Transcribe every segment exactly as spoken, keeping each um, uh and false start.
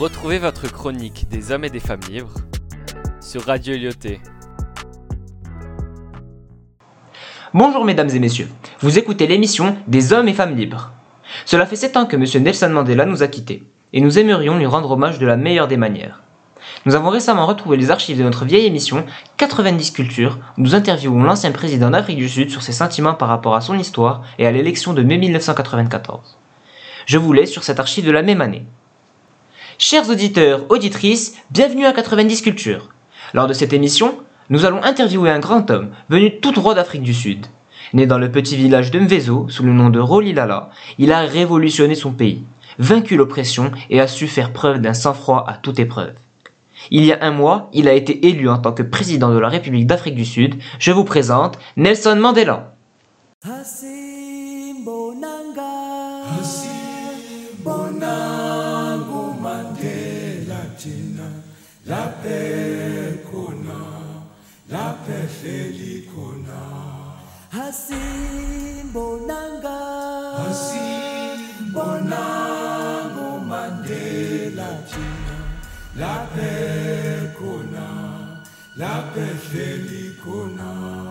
Retrouvez votre chronique des hommes et des femmes libres sur Radio Lyoté. Bonjour mesdames et messieurs, vous écoutez l'émission des hommes et femmes libres. Cela fait sept ans que M. Nelson Mandela nous a quittés, et nous aimerions lui rendre hommage de la meilleure des manières. Nous avons récemment retrouvé les archives de notre vieille émission quatre-vingt-dix cultures, où nous interviewons l'ancien président d'Afrique du Sud sur ses sentiments par rapport à son histoire et à l'élection de mai mille neuf cent quatre-vingt-quatorze. Je vous laisse sur cette archive de la même année. Chers auditeurs, auditrices, bienvenue à quatre-vingt-dix cultures. Lors de cette émission, nous allons interviewer un grand homme venu tout droit d'Afrique du Sud. Né dans le petit village de Mvezo, sous le nom de Rolihlahla, il a révolutionné son pays, vaincu l'oppression et a su faire preuve d'un sang-froid à toute épreuve. Il y a un mois, il a été élu en tant que président de la République d'Afrique du Sud. Je vous présente Nelson Mandela. La paix kona, la paix kona.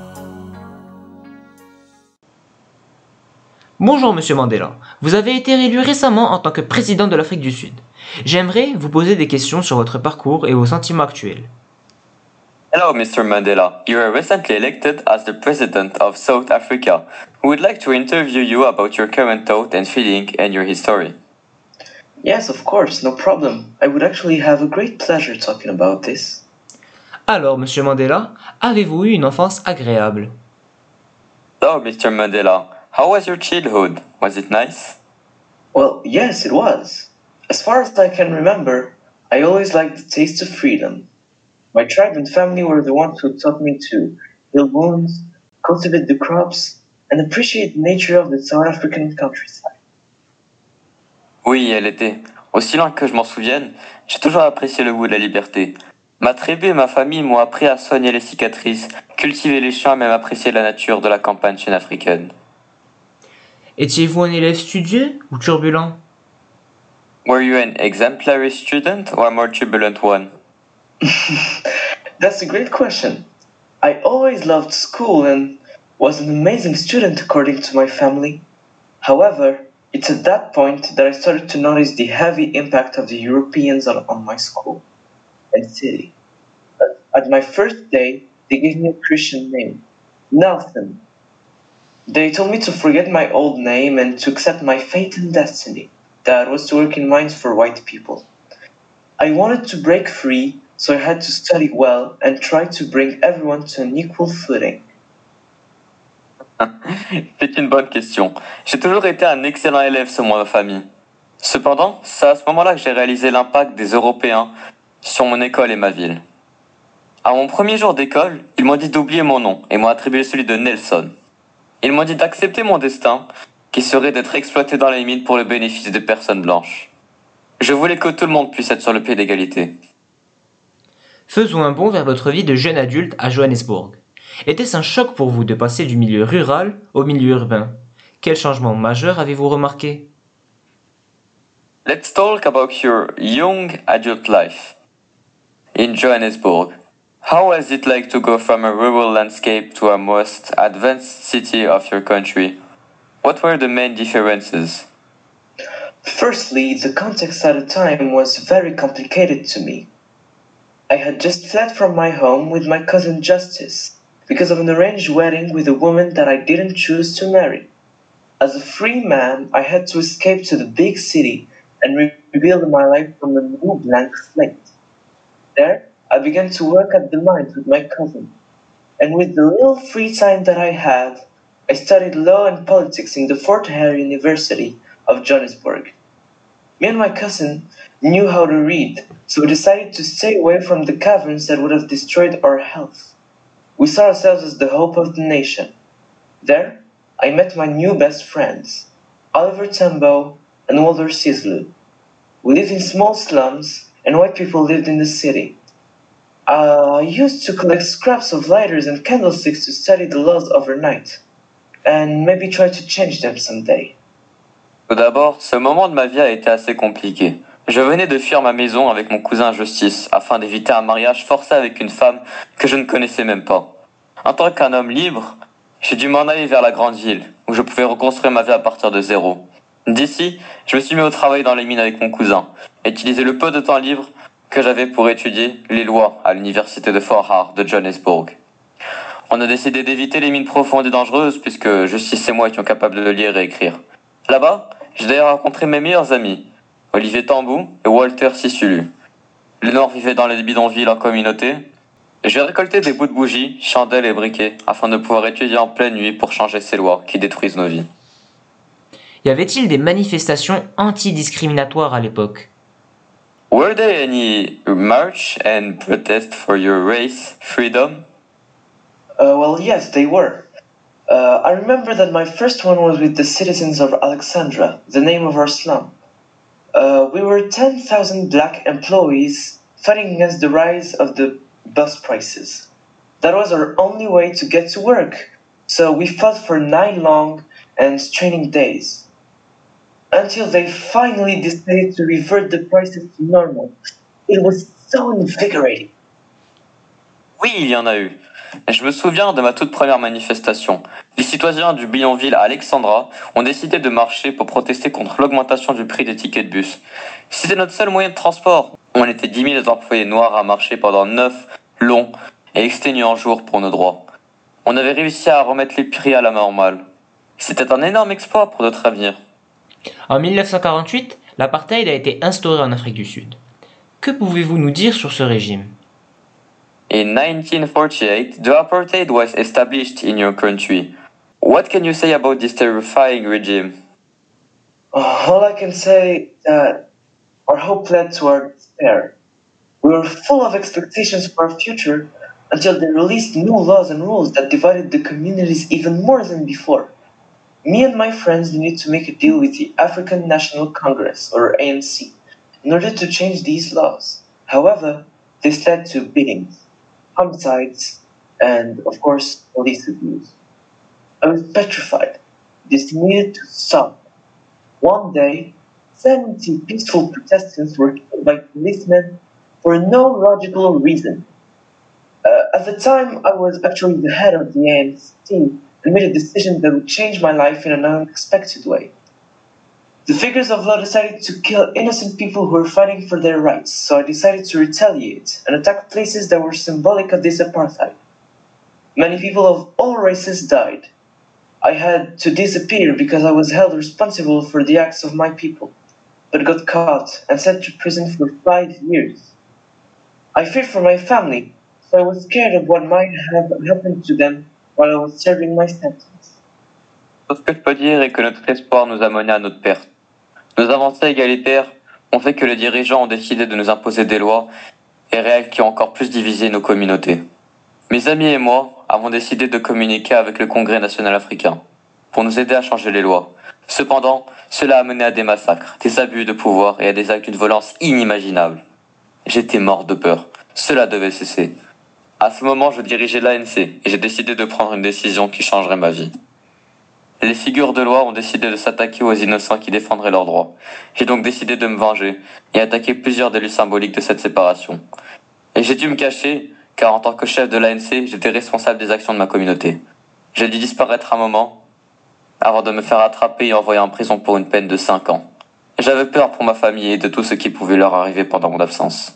Bonjour Monsieur Mandela, vous avez été réélu récemment en tant que président de l'Afrique du Sud. J'aimerais vous poser des questions sur votre parcours et vos sentiments actuels. Hello, Mister Mandela. You were recently elected as the President of South Africa. We would like to interview you about your current thought and feeling and your history. Yes, of course, no problem. I would actually have a great pleasure talking about this. Alors, Monsieur Mandela, avez-vous eu une enfance agréable? So, Mister Mandela, how was your childhood? Was it nice? Well, yes, it was. As far as I can remember, I always liked the taste of freedom. My tribe and family were the ones who taught me to heal wounds, cultivate the crops, and appreciate the nature of the South African countryside. Oui, elle était. Aussi loin que je m'en souvienne, j'ai toujours apprécié le goût de la liberté. Ma tribu et ma famille m'ont appris à soigner les cicatrices, cultiver les champs et même apprécier la nature de la campagne sud-africaine. Étiez-vous un élève studieux ou turbulent? Were you an exemplary student or a more turbulent one? That's a great question. I always loved school and was an amazing student according to my family. However, it's at that point that I started to notice the heavy impact of the Europeans on, on my school and city. At my first day, they gave me a Christian name, Nelson. They told me to forget my old name and to accept my fate and destiny, that was to work in mines for white people. I wanted to break free, so I had to study well and try to bring everyone to an equal footing. C'est une bonne question. J'ai toujours été un excellent élève selon ma famille. Cependant, c'est à ce moment-là que j'ai réalisé l'impact des Européens sur mon école et ma ville. À mon premier jour d'école, ils m'ont dit d'oublier mon nom et m'ont attribué celui de Nelson. Ils m'ont dit d'accepter mon destin, qui serait d'être exploité dans les mines pour le bénéfice des personnes blanches. Je voulais que tout le monde puisse être sur le pied d'égalité. Faisons un bond vers votre vie de jeune adulte à Johannesburg. Était-ce un choc pour vous de passer du milieu rural au milieu urbain? Quel changement majeur avez-vous remarqué? Let's talk about your young adult life in Johannesburg. How was it like to go from a rural landscape to a most advanced city of your country? What were the main differences? Firstly, the context at the time was very complicated to me. I had just fled from my home with my cousin Justice because of an arranged wedding with a woman that I didn't choose to marry. As a free man, I had to escape to the big city and re- rebuild my life from a new blank slate. There, I began to work at the mines with my cousin. And with the little free time that I had, I studied law and politics in the Fort Hare University of Johannesburg. Me and my cousin knew how to read, so we decided to stay away from the caverns that would have destroyed our health. We saw ourselves as the hope of the nation. There, I met my new best friends, Oliver Tambo and Walter Sislu. We lived in small slums, and white people lived in the city. Uh, I used to collect scraps of lighters and candlesticks to study the laws overnight, and maybe try to change them someday. Tout d'abord, ce moment de ma vie a été assez compliqué. Je venais de fuir ma maison avec mon cousin Justice afin d'éviter un mariage forcé avec une femme que je ne connaissais même pas. En tant qu'un homme libre, j'ai dû m'en aller vers la grande ville où je pouvais reconstruire ma vie à partir de zéro. D'ici, je me suis mis au travail dans les mines avec mon cousin et utilisé le peu de temps libre que j'avais pour étudier les lois à l'université de Fort Hare de Johannesburg. On a décidé d'éviter les mines profondes et dangereuses puisque Justice et moi étions capables de lire et écrire. Là-bas, j'ai d'ailleurs rencontré mes meilleurs amis, Olivier Tambou et Walter Sissulu. Les Noirs vivaient dans les bidonvilles en communauté. J'ai récolté des bouts de bougies, chandelles et briquets afin de pouvoir étudier en pleine nuit pour changer ces lois qui détruisent nos vies. Y avait-il des manifestations anti-discriminatoires à l'époque? Were there any march and protest for your race freedom? Uh, well, yes, they were. Uh, I remember that my first one was with the citizens of Alexandra, the name of our slum. Uh, we were ten thousand black employees fighting against the rise of the bus prices. That was our only way to get to work, so we fought for nine long and straining days, until they finally decided to revert the prices to normal. It was so invigorating. Oui, il y en a eu. Je me souviens de ma toute première manifestation. Les citoyens du bidonville à Alexandra ont décidé de marcher pour protester contre l'augmentation du prix des tickets de bus. C'était notre seul moyen de transport. On était dix mille employés noirs à marcher pendant neuf longs et exténuants jours pour nos droits. On avait réussi à remettre les prix à la normale. C'était un énorme exploit pour notre avenir. En mille neuf cent quarante-huit, l'apartheid a été instauré en Afrique du Sud. Que pouvez-vous nous dire sur ce régime? In nineteen forty-eight, the apartheid was established in your country. What can you say about this terrifying regime? Uh, all I can say is that our hope led to our despair. We were full of expectations for our future until they released new laws and rules that divided the communities even more than before. Me and my friends needed to make a deal with the African National Congress, or A N C, in order to change these laws. However, this led to beatings, homicides, and, of course, police abuse. I was petrified. This needed to stop. One day, seventy peaceful protestants were killed by policemen for no logical reason. Uh, at the time, I was actually the head of the A N C and made a decision that would change my life in an unexpected way. The figures of law decided to kill innocent people who were fighting for their rights, so I decided to retaliate and attack places that were symbolic of this apartheid. Many people of all races died. I had to disappear because I was held responsible for the acts of my people, but got caught and sent to prison for five years. I feared for my family, so I was scared of what might have happened to them while I was serving my sentence. Tout ce que je peux dire est que notre espoir nous a menés à notre perte. Nos avancées égalitaires ont fait que les dirigeants ont décidé de nous imposer des lois et réels qui ont encore plus divisé nos communautés. Mes amis et moi avons décidé de communiquer avec le Congrès national africain pour nous aider à changer les lois. Cependant, cela a mené à des massacres, des abus de pouvoir et à des actes d'une violence inimaginable. J'étais mort de peur. Cela devait cesser. À ce moment, je dirigeais l'A N C et j'ai décidé de prendre une décision qui changerait ma vie. Les figures de loi ont décidé de s'attaquer aux innocents qui défendraient leurs droits. J'ai donc décidé de me venger et attaquer plusieurs des lieux symboliques de cette séparation. Et j'ai dû me cacher, car en tant que chef de l'A N C, j'étais responsable des actions de ma communauté. J'ai dû disparaître un moment, avant de me faire attraper et envoyer en prison pour une peine de cinq ans. J'avais peur pour ma famille et de tout ce qui pouvait leur arriver pendant mon absence.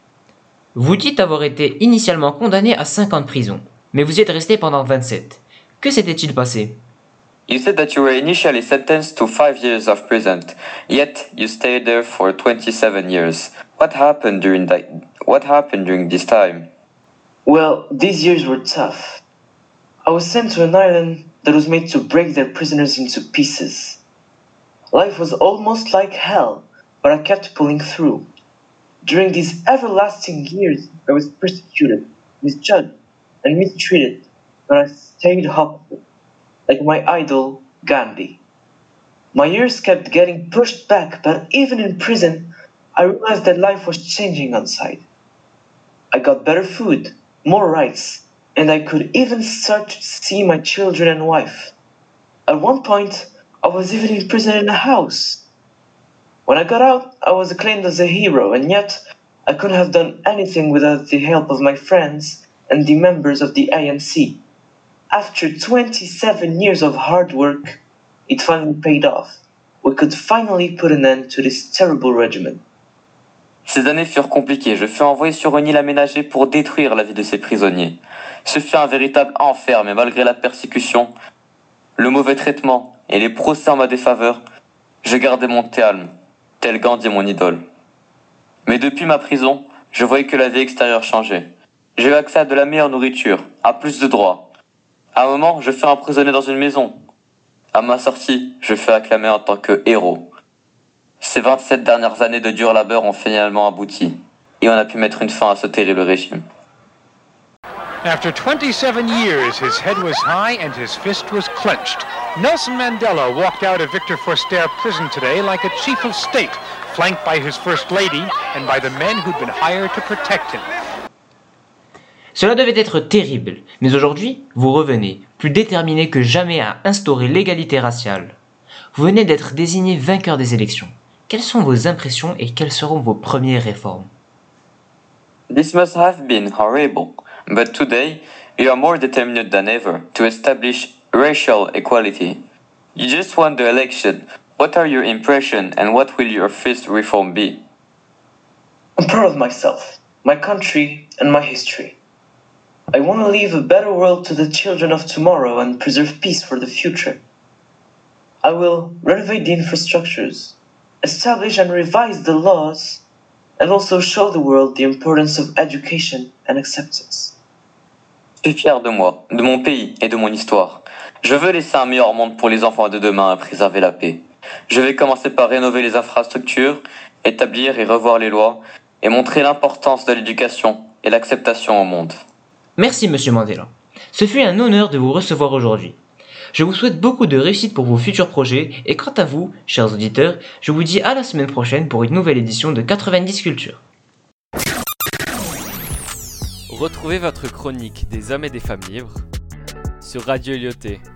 Vous dites avoir été initialement condamné à cinq ans de prison, mais vous y êtes resté pendant vingt-sept. Que s'était-il passé? You said that you were initially sentenced to five years of prison, yet you stayed there for twenty-seven years. What happened during that? What happened during this time? Well, these years were tough. I was sent to an island that was made to break their prisoners into pieces. Life was almost like hell, but I kept pulling through. During these everlasting years, I was persecuted, misjudged, and mistreated, but I stayed hopeful, like my idol, Gandhi. My years kept getting pushed back, but even in prison, I realized that life was changing outside. I got better food, more rights, and I could even start to see my children and wife. At one point, I was even in prison in a house. When I got out, I was acclaimed as a hero, and yet I couldn't have done anything without the help of my friends and the members of the A N C. After twenty-seven years of hard work, it finally paid off. We could finally put an end to this terrible regimen. Ces années furent compliquées. Je fus envoyé sur une île aménagée pour détruire la vie de ces prisonniers. Ce fut un véritable enfer, mais malgré la persécution, le mauvais traitement et les procès en ma défaveur, je gardais mon calme, tel Gandhi mon idole. Mais depuis ma prison, je voyais que la vie extérieure changeait. J'ai eu accès à de la meilleure nourriture, à plus de droits. À un moment, je fus emprisonné dans une maison. À ma sortie, je fus acclamé en tant que héros. Ces vingt-sept dernières années de dur labeur ont finalement abouti, et on a pu mettre une fin à ce terrible régime. After twenty-seven years, his head was high and his fist was clenched. Nelson Mandela walked out of Victor Verster prison today like a chief of state, flanked by his first lady and by the men who'd been hired to protect him. Cela devait être terrible, mais aujourd'hui, vous revenez, plus déterminé que jamais à instaurer l'égalité raciale. Vous venez d'être désigné vainqueur des élections. Quelles sont vos impressions et quelles seront vos premières réformes? This must have been horrible, but today you are more determined than ever to establish racial equality. You just won the election. What are your impressions and what will your first reform be? I'm proud of myself, my country, and my history. I want to leave a better world to the children of tomorrow and preserve peace for the future. I will renovate the infrastructures, establish and revise the laws, and also show the world the importance of education and acceptance. Je suis fier de moi, de mon pays et de mon histoire. Je veux laisser un meilleur monde pour les enfants de demain et préserver la paix. Je vais commencer par rénover les infrastructures, établir et revoir les lois, et montrer l'importance de l'éducation et l'acceptation au monde. Merci Monsieur Mandela. Ce fut un honneur de vous recevoir aujourd'hui. Je vous souhaite beaucoup de réussite pour vos futurs projets et quant à vous, chers auditeurs, je vous dis à la semaine prochaine pour une nouvelle édition de quatre-vingt-dix Culture. Retrouvez votre chronique des hommes et des femmes libres sur Radio Lyoté.